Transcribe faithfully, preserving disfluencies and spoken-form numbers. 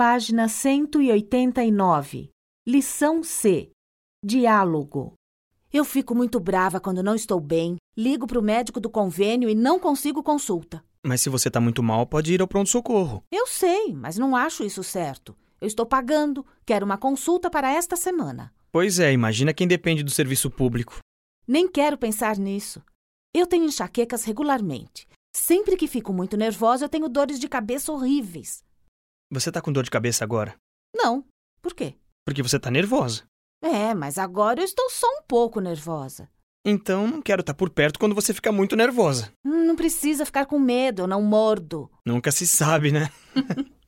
página cento e oitenta e nove. Lição C. Diálogo. Eu fico muito brava quando não estou bem, ligo para o médico do convênio e não consigo consulta. Mas se você tá muito mal, pode ir ao pronto-socorro. Eu sei, mas não acho isso certo. Eu estou pagando, quero uma consulta para esta semana. Pois é, imagina quem depende do serviço público. Nem quero pensar nisso. Eu tenho enxaquecas regularmente. Sempre que fico muito nervosa, eu tenho dores de cabeça horríveis. Você tá com dor de cabeça agora? Não. Por quê? Porque você tá nervosa. É, mas agora eu estou só um pouco nervosa. Então não quero estar por perto quando você fica muito nervosa. Hum, não precisa ficar com medo, eu não mordo. Nunca se sabe, né?